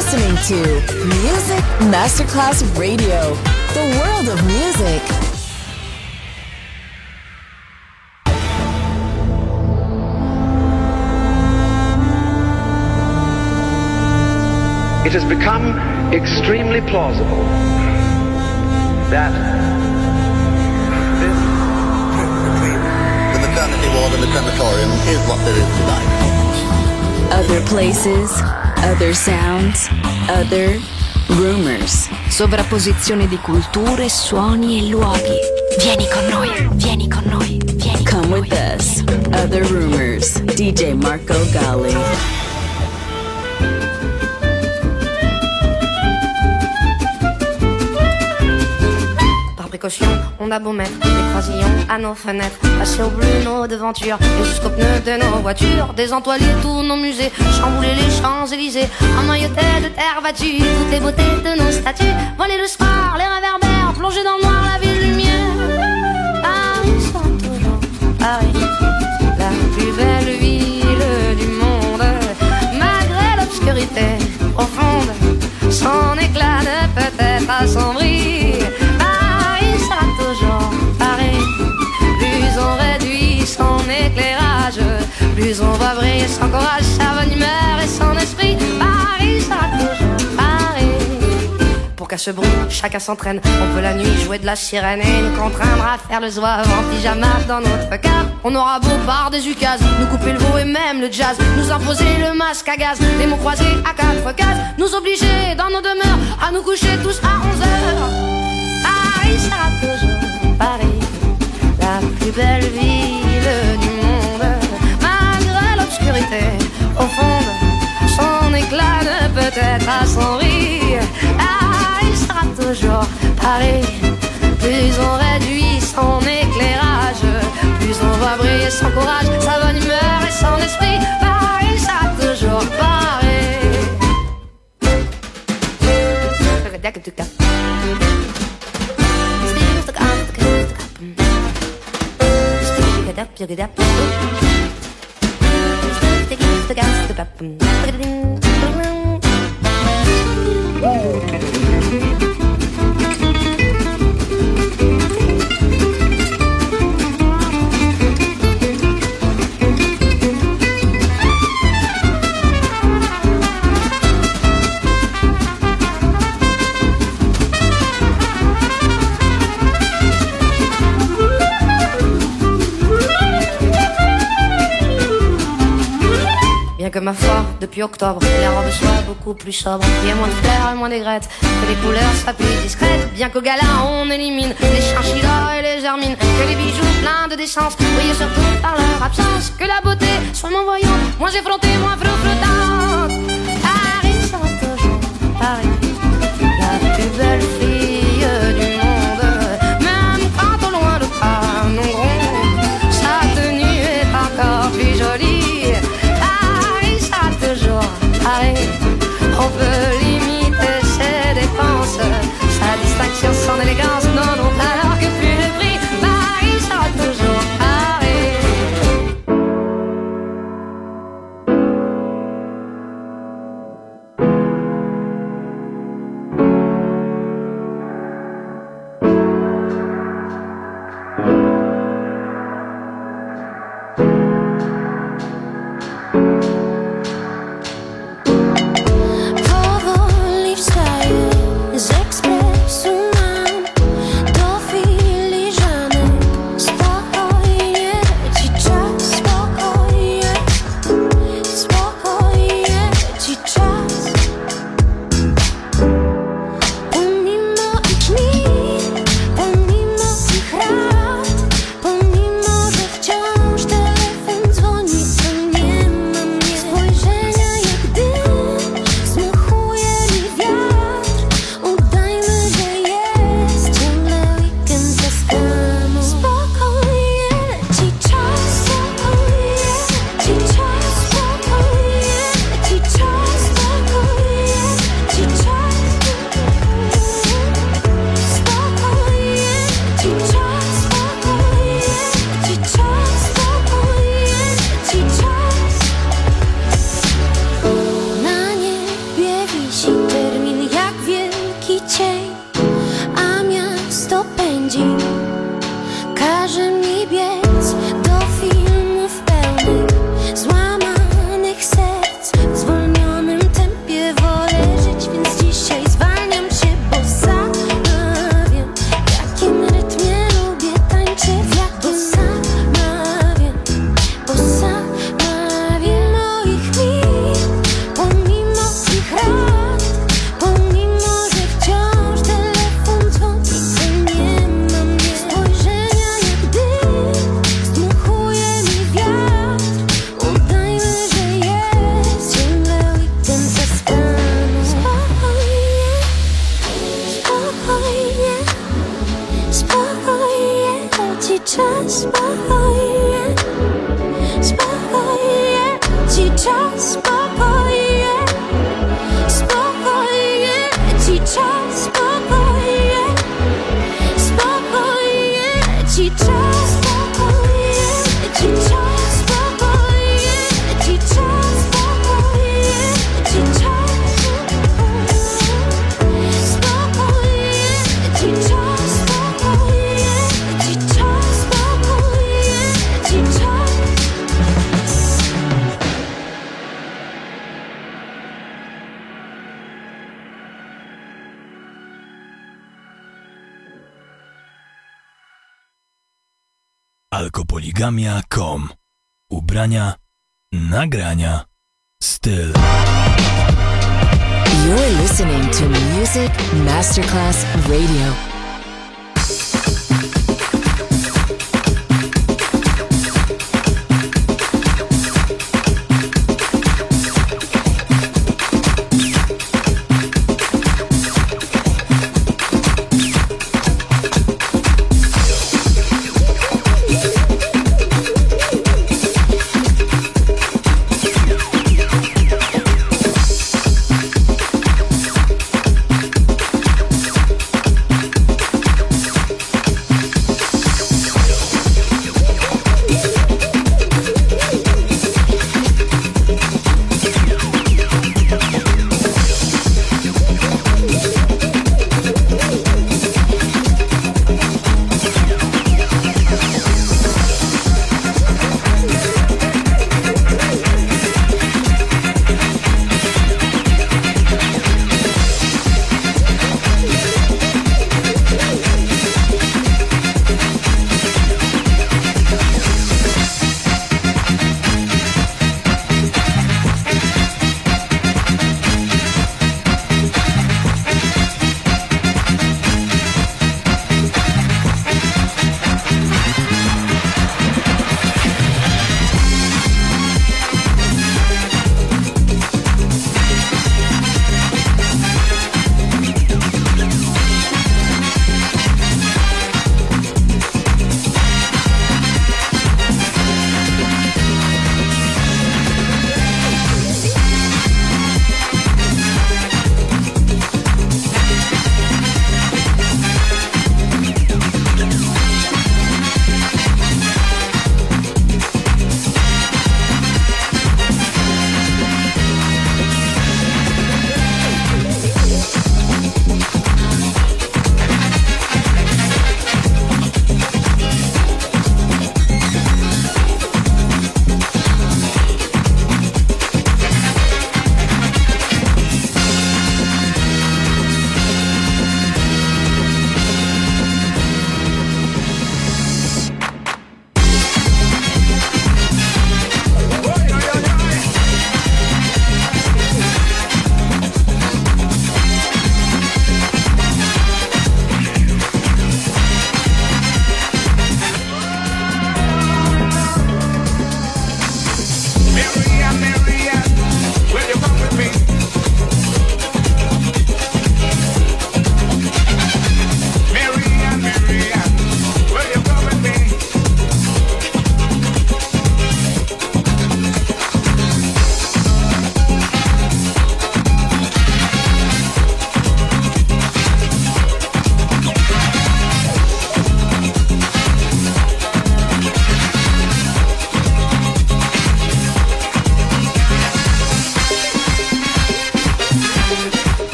listening to Music Masterclass Radio, the world of music. It has become extremely plausible that this between the maternity ward and the crematorium is what there is tonight. Other places, other sounds, other rumors. Sovrapposizione di culture, suoni e luoghi. Vieni con noi, vieni con noi, vieni con Come noi. with us. Other rumors. DJ Marco Gally. On a beau mettre des croisillons à nos fenêtres, passer au bleu nos devantures et jusqu'aux pneus de nos voitures, désentoiler tous nos musées, chambouler les Champs-Élysées, emmailloter de terre battue toutes les beautés de nos statues, voler le soir, les réverbères, plonger dans le noir la ville lumière. Paris sera toujours Paris, la plus belle ville du monde, malgré l'obscurité profonde, son éclat ne peut être assombri. Toujours pareil. Plus on réduit son éclairage, plus on va briller son courage, sa bonne humeur et son esprit. Paris sera toujours pareil. Pour qu'à ce bruit, chacun s'entraîne. On peut la nuit jouer de la sirène et nous contraindre à faire le zouave en pyjama dans notre cave. On aura beau par des ukases, nous couper le veau et même le jazz, nous imposer le masque à gaz, les mots croisés à quatre cases, nous obliger dans nos demeures à nous coucher tous à 11h. Paris sera toujours Paris, la plus belle ville du monde, malgré l'obscurité profonde, son éclat ne peut être assombri. Paris sera toujours Paris, plus on réduit son éclairage, plus on va briller son courage, sa bonne humeur et son esprit. Paris sera toujours Paris. Que ma foi, depuis octobre, les robes soient beaucoup plus sobres. Il y a moins de fleurs et moins d'aigrettes, que les couleurs soient plus discrètes. Bien qu'au gala on élimine les chinchillas et les hermines, que les bijoux pleins de décence brillent surtout par leur absence, que la beauté soit moins voyante, moins effrontée, moins flottante. Paris sera toujours Paris, la plus belle fille du monde, même quand au loin le train nous gronde, sa tenue est encore plus jolie. Paris, on peut limiter ses dépenses, sa distinction, son élégance, non, non, alors que plus le prix, Paris sera toujours Paris. Express humain, Alkopoligamia.com. Ubrania, nagrania, styl. You're listening to Music Masterclass Radio.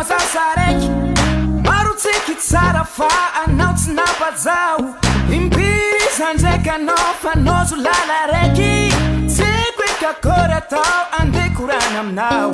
mazasaraiky marotsiky tsara fa anao tsy napajao impiry zandraiky anao fanozo lala raiky tsiko ikakory atao andeha korana aminao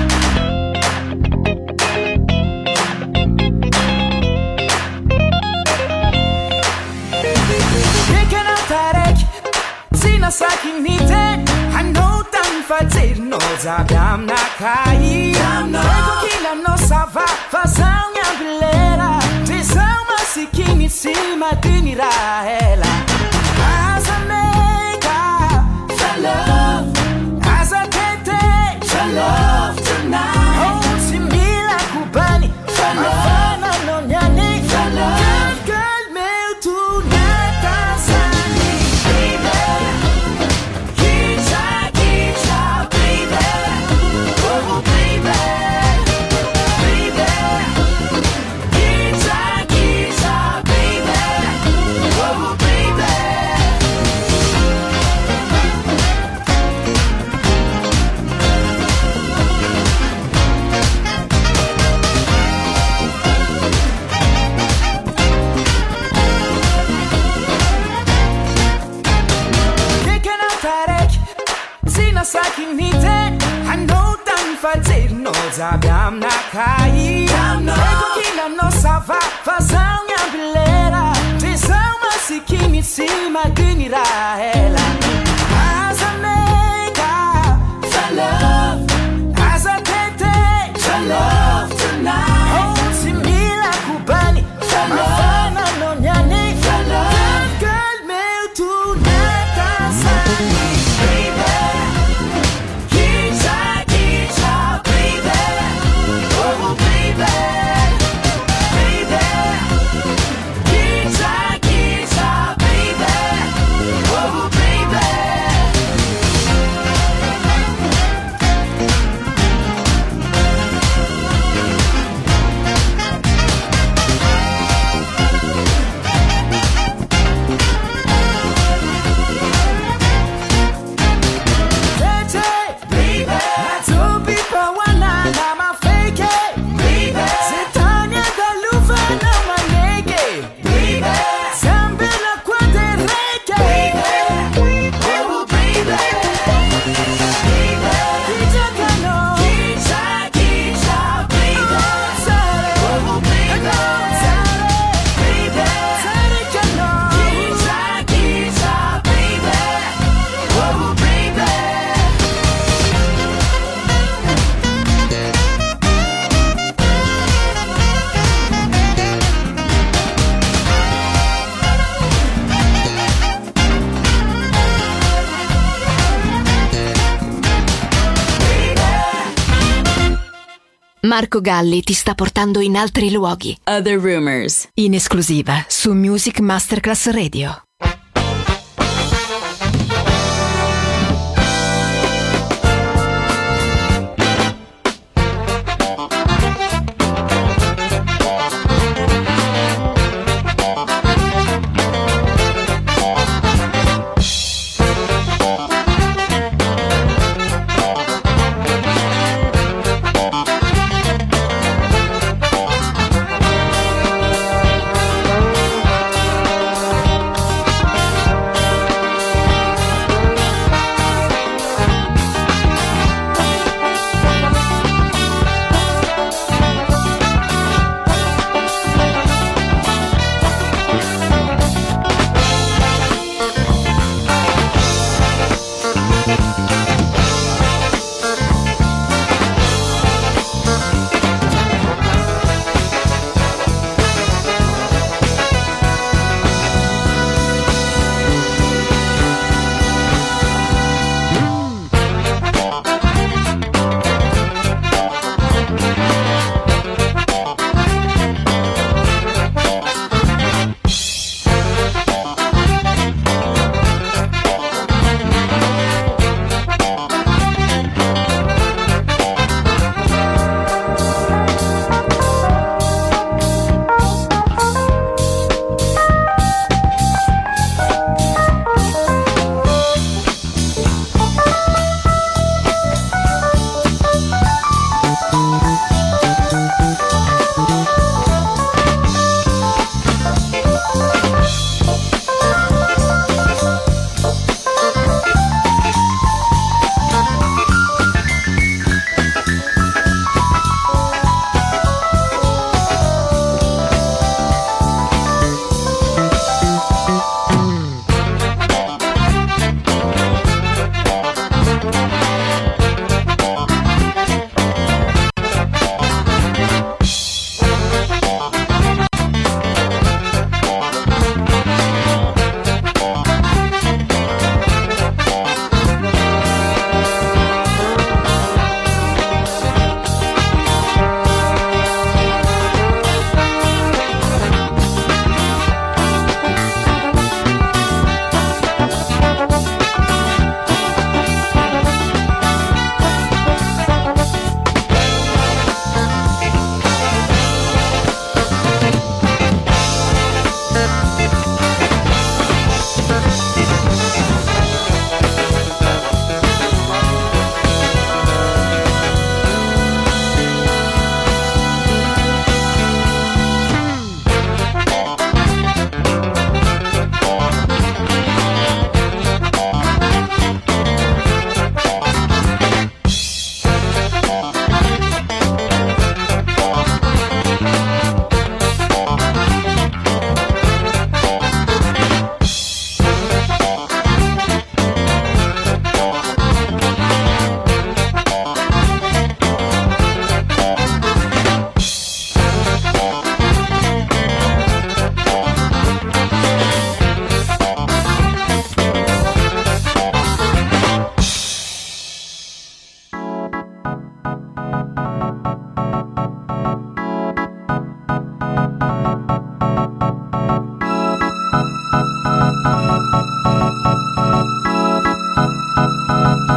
ekanao taraiky tsy nasaky nite anao tany fajerinao jaby aminakay eko kilanao sava fa zaho ny ambilera de zaho masikiny tsy madiny raha ela aza meka love aza tete love tonight oh tsy mila kubani mafana no nyane girl meu tonight asani baby kitcha kitcha baby oh baby baby kitcha kitcha baby oh baby saky nite anao tany fajerinao jaby aminakay eko kilanao sava fa zaho ny ambilera de zaho masikiny tsy madiny raha ela aza meka love aza tete love tonight oh tsy mila kubani mafana no nyane girl meu tonight asani baby Marco Galli ti sta portando in altri luoghi. Other Rumors, In esclusiva su Music Masterclass Radio.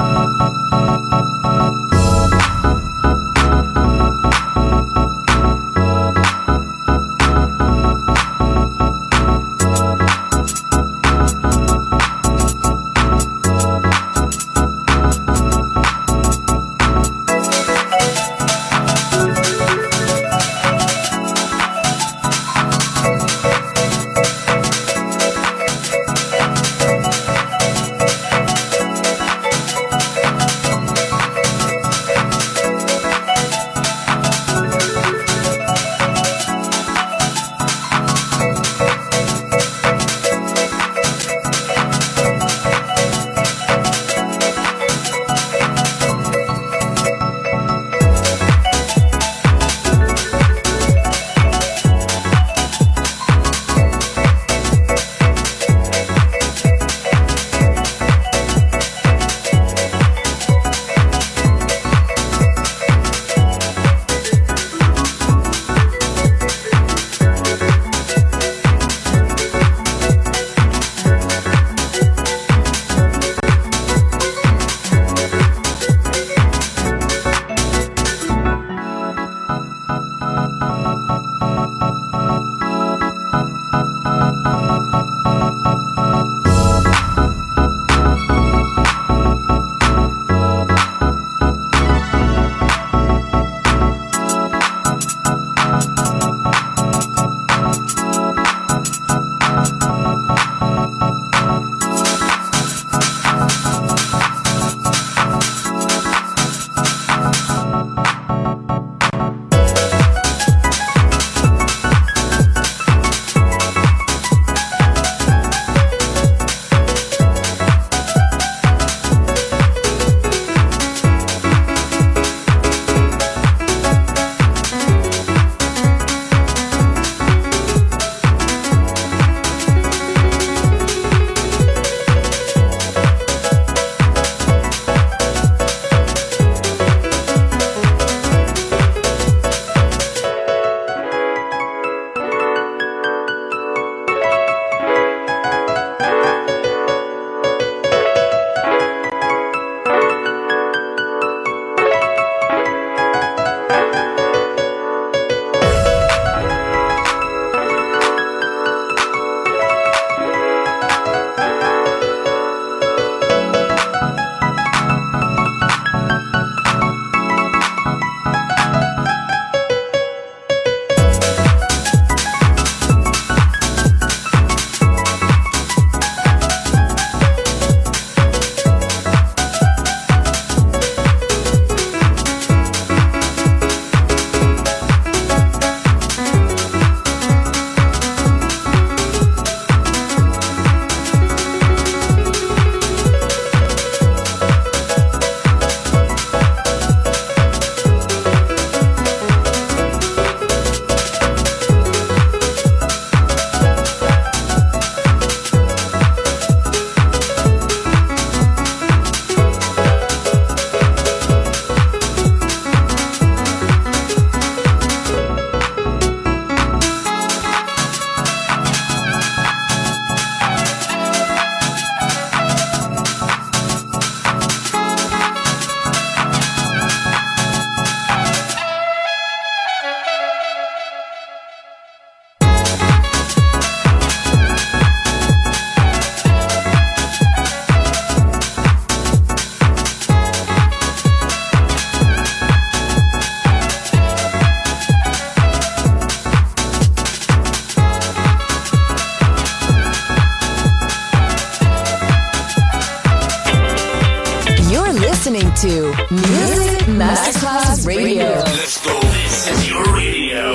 listening to Music Masterclass Radio. Let's go. This is your radio.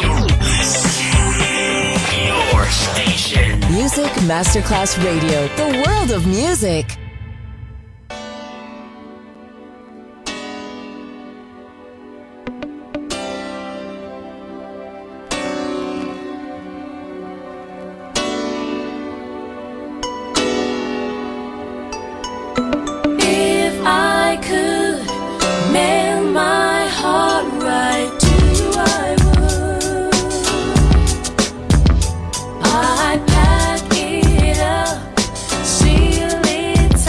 Your station. Music Masterclass Radio. The world of music. I'd pack it up, seal it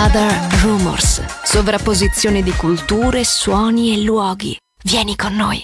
Other Rumors. Sovrapposizione di culture, suoni e luoghi. Vieni con noi.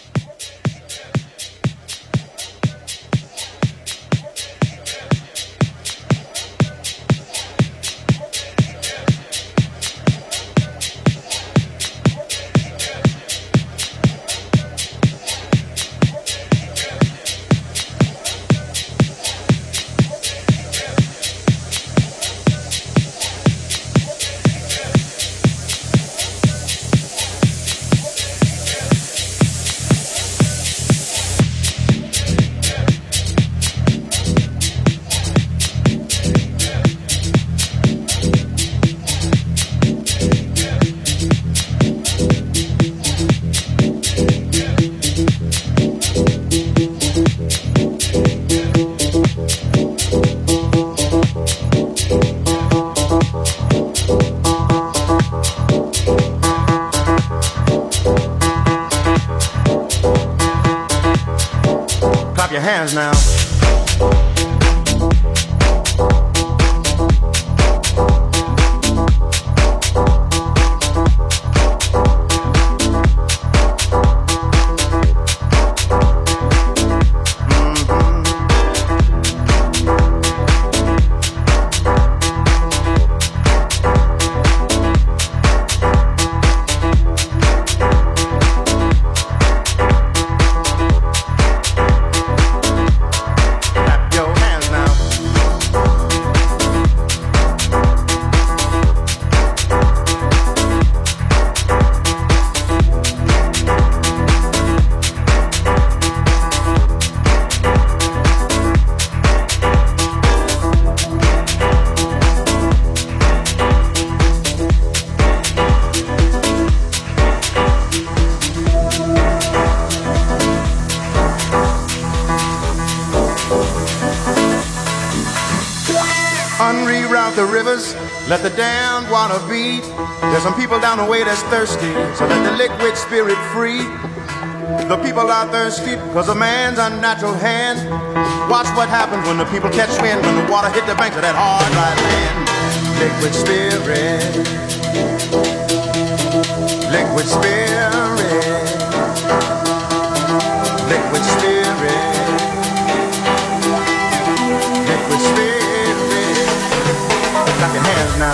Now. Unreroute the rivers, let the damned water beat. There's some people down the way that's thirsty, so let the liquid spirit free. The people are thirsty because of man's unnatural hand. Watch what happens when the people catch wind, when the water hit the banks of that hard, dry land. Liquid spirit, liquid spirit, liquid spirit, liquid spirit. Clap your hands now.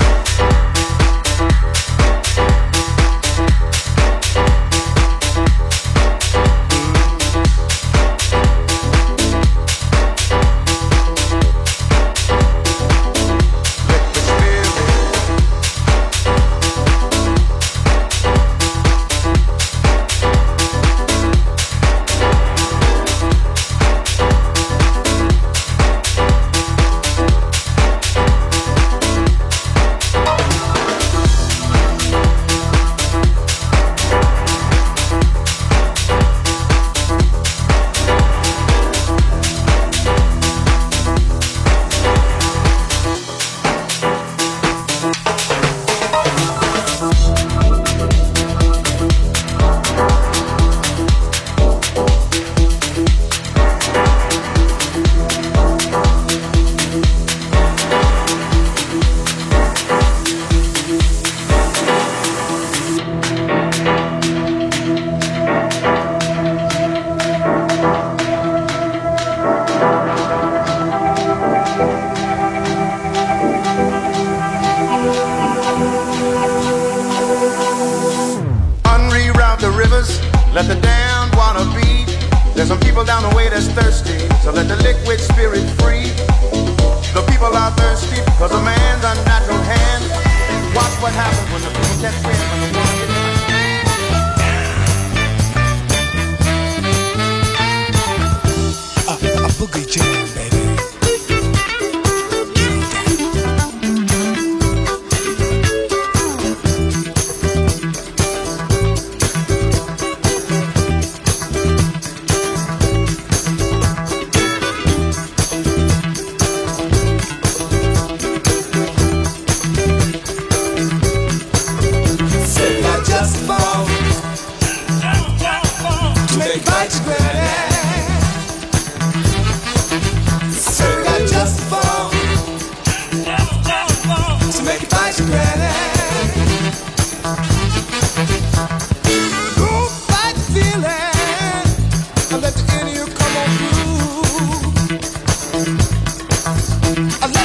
Let the damned water beat. There's some people down the way that's thirsty, so let the liquid spirit free. The people are thirsty because of man's unnatural hand. Watch what happens when the people catch wind, when the water gets a boogie jam, baby.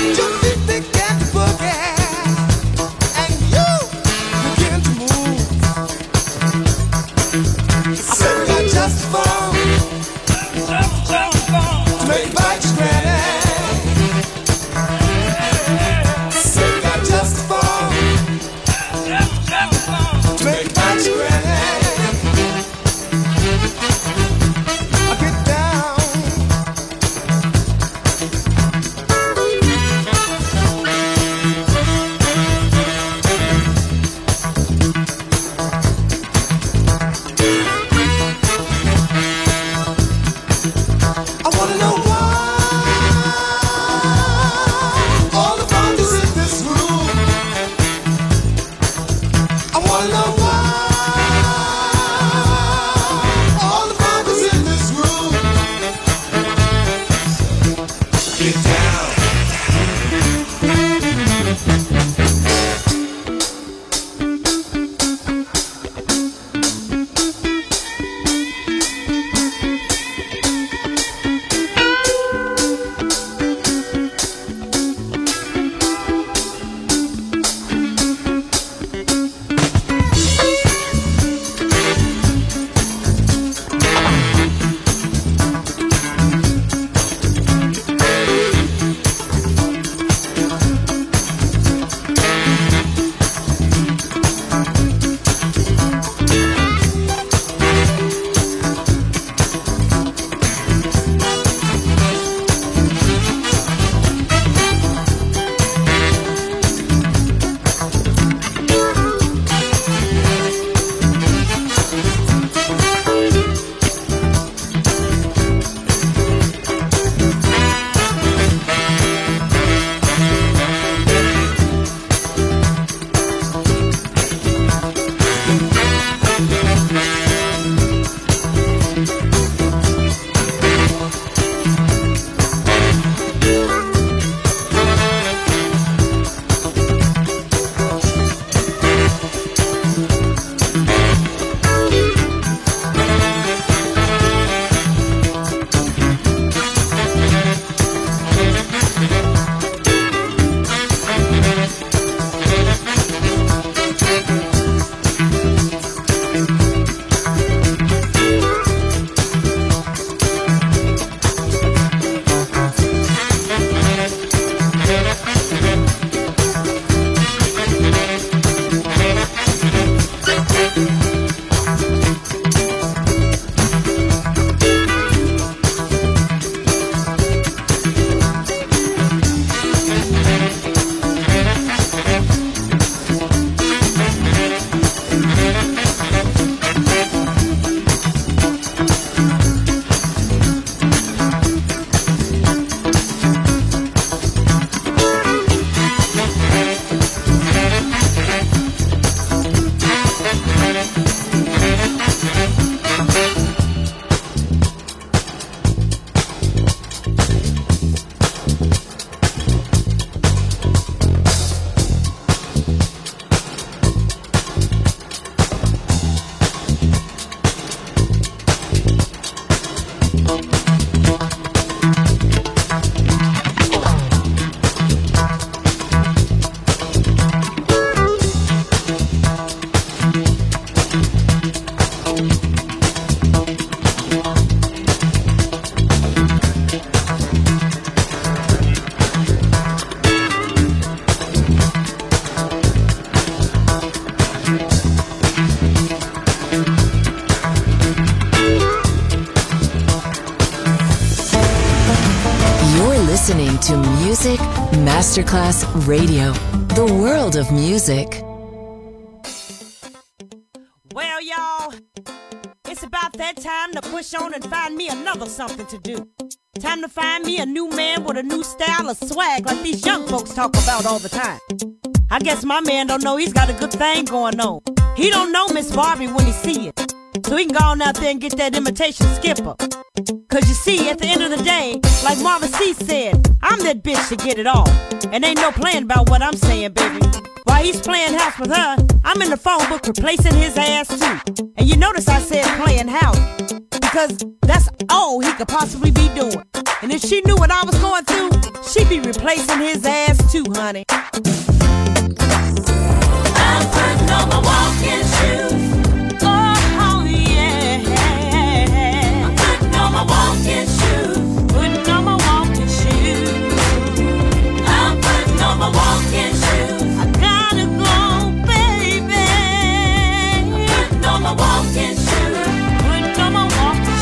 listening to Music Masterclass Radio, the world of music. Well, y'all, it's about that time to push on and find me another something to do. Time to find me a new man with a new style of swag like these young folks talk about all the time. I guess my man don't know he's got a good thing going on. He don't know Miss Barbie when he see it. So he can go on out there and get that imitation skipper. Cause you see, at the end of the day, like Marvin C said, I'm that bitch to get it all. And ain't no playing about what I'm saying, baby. While he's playing house with her, I'm in the phone book replacing his ass too. And you notice I said playing house, because that's all he could possibly be doing. And if she knew what I was going through, she'd be replacing his ass too, honey. I'm putting on my walking shoes. Oh, yeah. I'm putting on my walking shoes. Putting on my walking shoes. I'm putting on my walking shoes. I gotta go, baby. I'm putting on my walking shoes. Putting on my walking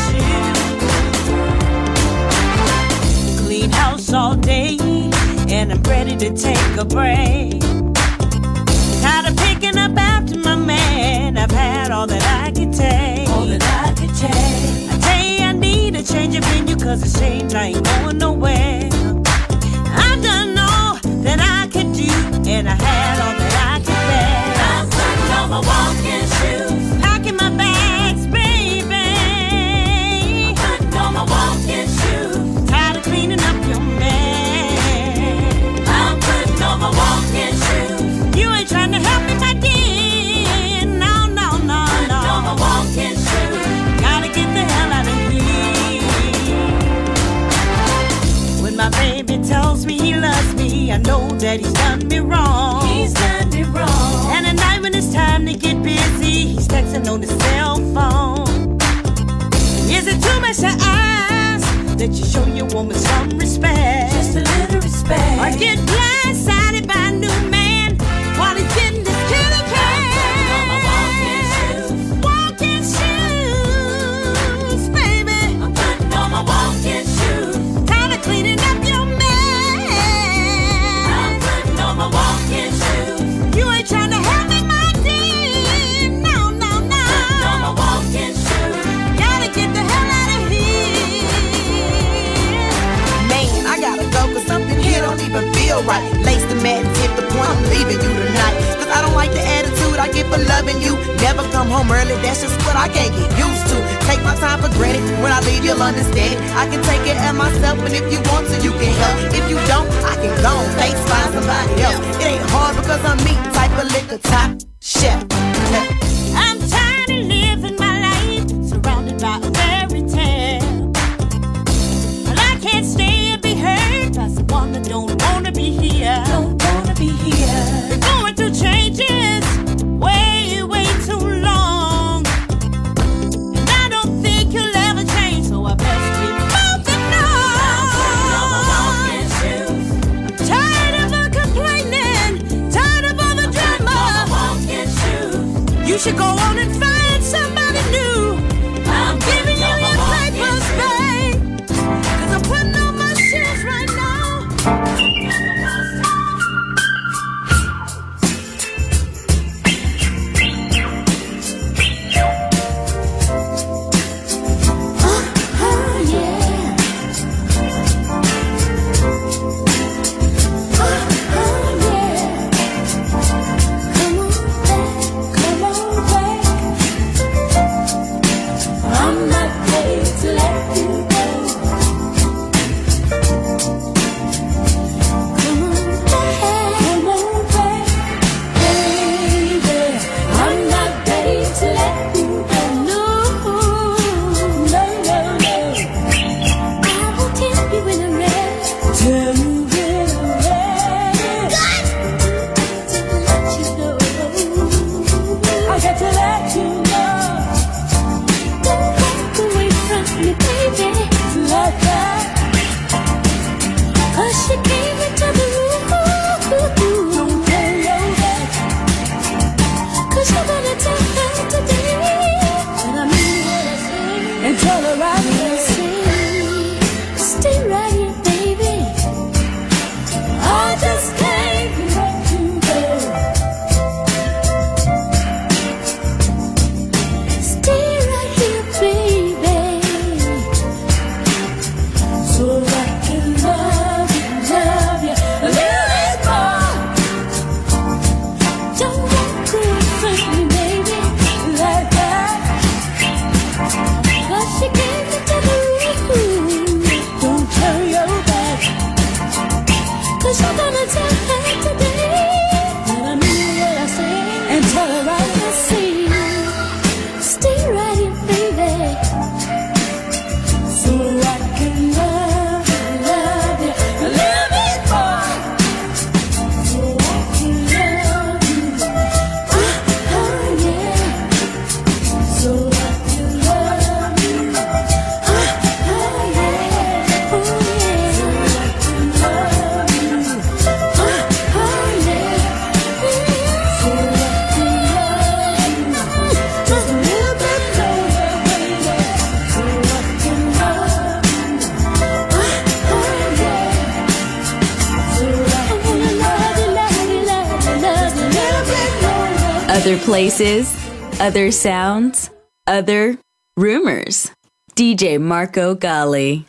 shoes. Clean house all day, and I'm ready to take a break. Tired of picking up after my man. I've had all that I could take. All that I could take. I tell you I need a change of venue, cause it's changed, I ain't going nowhere. I've done all that I could do, and I had all that I could bear. I'm putting on my walking shoes. Packing my bags, baby. I'm putting on my walking shoes. Tired of cleaning up your mess. I'm putting on my walking shoes. You ain't trying to help me, my dear. No, no, no, no. Putting on my walking shoes. Gotta get the hell out of here. When my baby tells me he loves me, I know that he's done me wrong. He's done me wrong. And at night when it's time to get busy, he's texting on his cell phone. Is it too much to ask that you show your woman some respect? Just a little respect. Or get blindsided by a new man while he's getting this kitty cat? I'm putting on my walking shoes. Walking shoes, baby. I'm putting on my walking shoes. Tired of cleaning up your mess. I'm putting on my walking shoes. You ain't trying to help me, my dear. No, no, no. Putting on my walking shoes. Gotta get the hell out of here. Man, I gotta go, cause something here don't even feel right. Lace the mat and tip the point, I'm leaving you tonight. Cause I don't like the attitude I get for loving you. Never come home early, that's just what I can't get used to. Take my time for granted, when I leave you'll understand it. I can take care of myself, and if you want to, you can help. If you don't, I can go on, thanks, find somebody else. It ain't hard because I'm me, type of liquor, top chef. I'm tired of living my life surrounded by a fairy tale. Well, I can't stay and be hurt by someone that don't wanna be here. Don't wanna be here. Been going through changes way, way too long, and I don't think you'll ever change, so I best be moving On my on. walking shoes. Tired of her complaining, tired of all the On my drama. walking shoes. You should go on and find somebody new. I'm giving you your papers, babe, cause I'm putting on my shoes right now. Other places, other sounds, other rumors. DJ Marco Gally.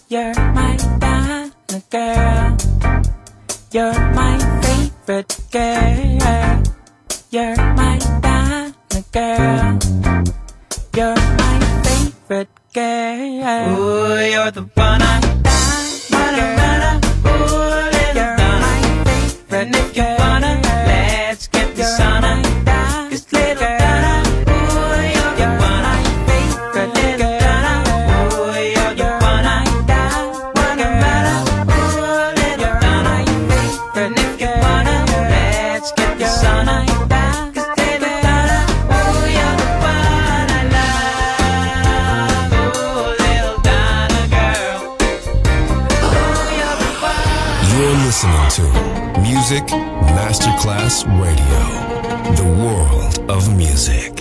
You're my Donna girl. You're my favorite girl. You're my Donna girl. You're my favorite girl. Ooh, you're the one I die, girl. Ooh, little Donna. You're my favorite and if you wanna, let's get the sun on. Cause little Donna, ooh, you're the one I favorite. Little Donna, ooh, you're the one I die, girl. Ooh, little Donna, favorite and if you wanna, let's get the sun on. Listening to Music Masterclass Radio, the world of music.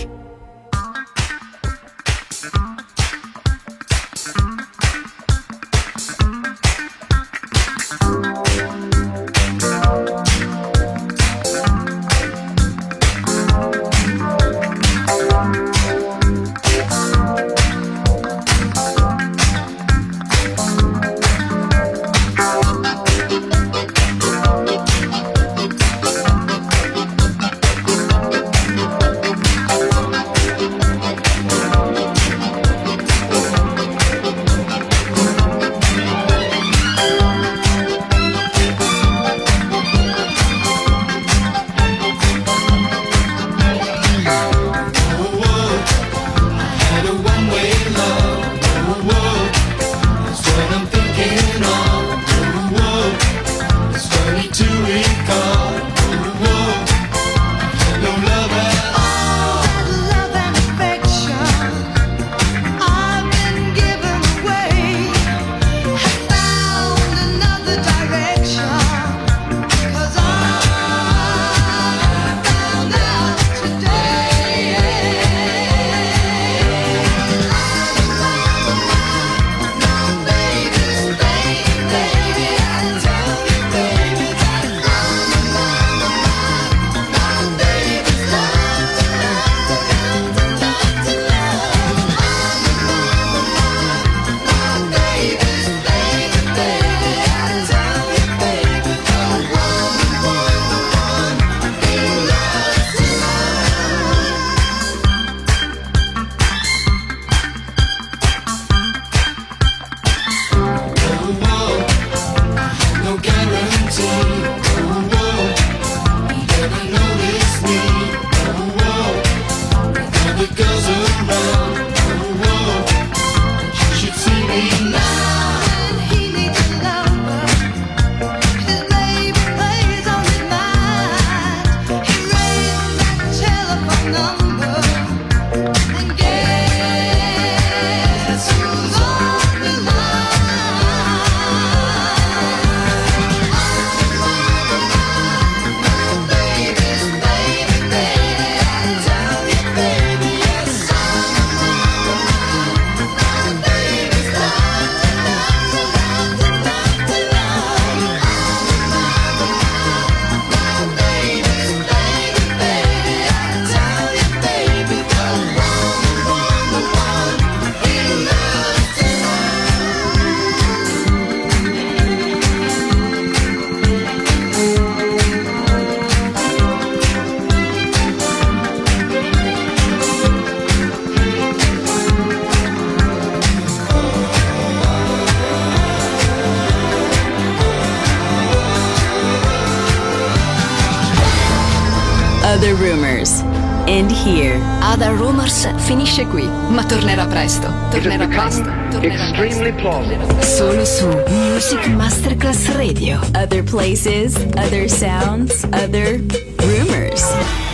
Other Rumors. End here. Other Rumors finisce qui, ma tornerà presto. Tornerà presto. Extremely plausible. Solo su Music Masterclass Radio. Other places, other sounds, other rumors.